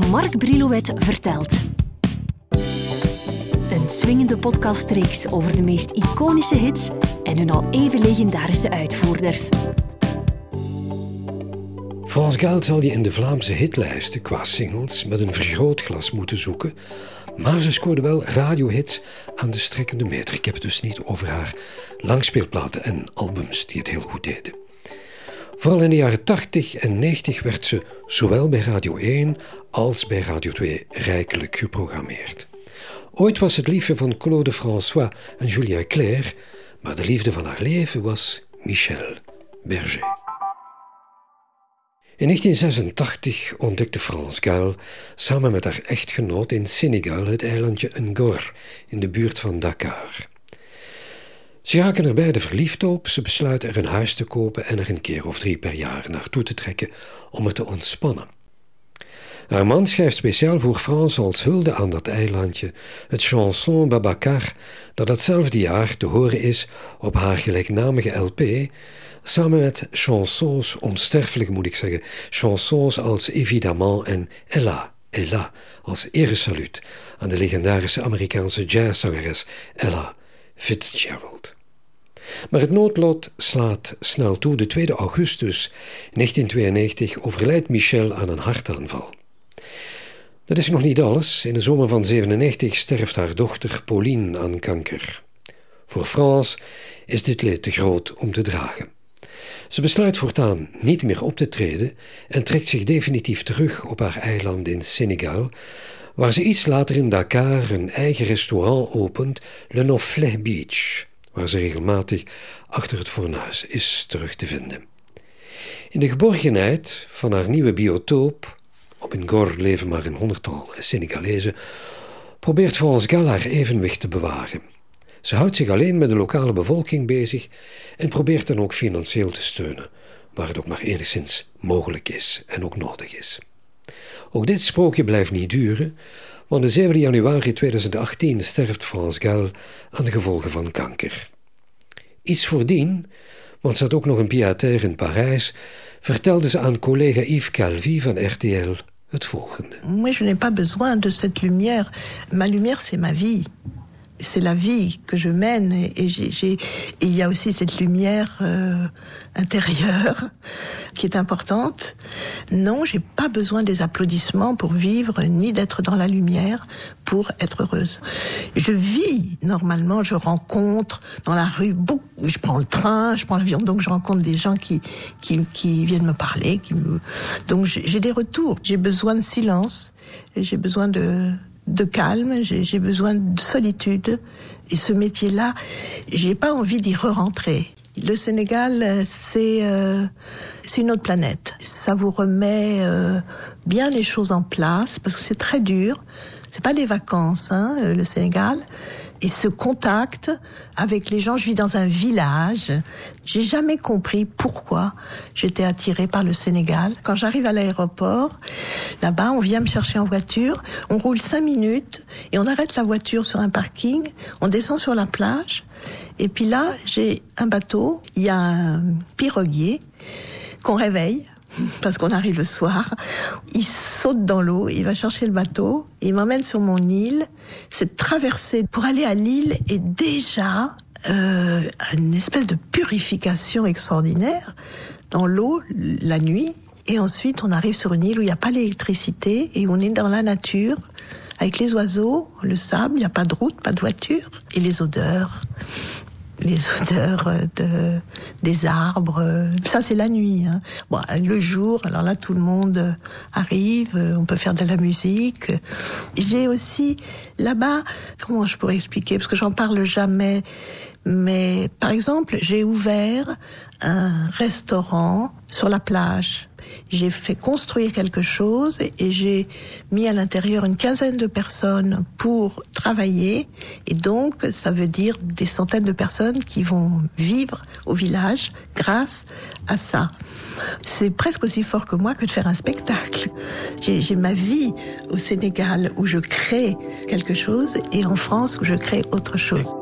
Marc Brilouet vertelt. Een swingende podcastreeks over de meest iconische hits en hun al even legendarische uitvoerders. France Gall zal je in de Vlaamse hitlijsten qua singles met een vergrootglas moeten zoeken, maar ze scoorde wel radiohits aan de strekkende meter. Ik heb het dus niet over haar langspeelplaten en albums die het heel goed deden. Vooral in de jaren 80 en 90 werd ze zowel bij Radio 1 als bij Radio 2 rijkelijk geprogrammeerd. Ooit was het liefje van Claude François en Julien Clerc, maar de liefde van haar leven was Michel Berger. In 1986 ontdekte France Gall samen met haar echtgenoot in Senegal het eilandje Ngor in de buurt van Dakar. Ze raken er beide verliefd op, ze besluiten er een huis te kopen en er een keer of 3 per jaar naartoe te trekken om er te ontspannen. Haar man schrijft speciaal voor France als hulde aan dat eilandje het chanson Babacar dat datzelfde jaar te horen is op haar gelijknamige LP, samen met chansons, onsterfelijk moet ik zeggen, chansons als Évidemment en Ella, Ella, als eresaluut aan de legendarische Amerikaanse jazzzangeres Ella Fitzgerald. Maar het noodlot slaat snel toe. De 2 augustus 1992 overlijdt Michel aan een hartaanval. Dat is nog niet alles. In de zomer van 1997 sterft haar dochter Pauline aan kanker. Voor France is dit leed te groot om te dragen. Ze besluit voortaan niet meer op te treden en trekt zich definitief terug op haar eiland in Senegal, waar ze iets later in Dakar een eigen restaurant opent, Le Noflet Beach, waar ze regelmatig achter het fornuis is terug te vinden. In de geborgenheid van haar nieuwe biotoop, op Ngor leven maar een 100-tal Senegalezen, probeert France Gall haar evenwicht te bewaren. Ze houdt zich alleen met de lokale bevolking bezig en probeert dan ook financieel te steunen, waar het ook maar enigszins mogelijk is en ook nodig is. Ook dit sprookje blijft niet duren, want de 7 januari 2018 sterft France Gall aan de gevolgen van kanker. Iets voordien, want ze had ook nog een pied-à-terre in Parijs, vertelde ze aan collega Yves Calvi van RTL het volgende. Moi, je n'ai pas besoin de cette lumière. Ma lumière, c'est ma vie. C'est la vie que je mène et il y a aussi cette lumière intérieure qui est importante. Non, j'ai pas besoin des applaudissements pour vivre, ni d'être dans la lumière pour être heureuse. Je vis normalement, je rencontre dans la rue, je prends le train, je prends l'avion, donc je rencontre des gens qui viennent me parler, donc j'ai des retours. J'ai besoin de silence et j'ai besoin de calme, j'ai besoin de solitude. Et ce métier-là, j'ai pas envie d'y re-rentrer. Le Sénégal, c'est une autre planète. Ça vous remet bien les choses en place, parce que c'est très dur. C'est pas des vacances, le Sénégal. Et ce contact avec les gens, je vis dans un village. J'ai jamais compris pourquoi j'étais attirée par le Sénégal. Quand j'arrive à l'aéroport, là-bas, on vient me chercher en voiture, on roule 5 minutes et on arrête la voiture sur un parking, on descend sur la plage et puis là, j'ai un bateau, il y a un piroguier qu'on réveille parce qu'on arrive le soir. Il saute dans l'eau, il va chercher le bateau, il m'emmène sur mon île. Cette traversée pour aller à l'île est déjà une espèce de purification extraordinaire dans l'eau la nuit. Et ensuite, on arrive sur une île où il n'y a pas d'électricité et on est dans la nature avec les oiseaux, le sable, il n'y a pas de route, pas de voiture. Et les odeurs des arbres, ça c'est la nuit. Bon, le jour, alors là tout le monde arrive, on peut faire de la musique. J'ai aussi là-bas, comment je pourrais expliquer, parce que j'en parle jamais, mais par exemple, j'ai ouvert un restaurant sur la plage. J'ai fait construire quelque chose et j'ai mis à l'intérieur une 15aine de personnes pour travailler. Et donc, ça veut dire des centaines de personnes qui vont vivre au village grâce à ça. C'est presque aussi fort que moi que de faire un spectacle. J'ai ma vie au Sénégal où je crée quelque chose et en France où je crée autre chose.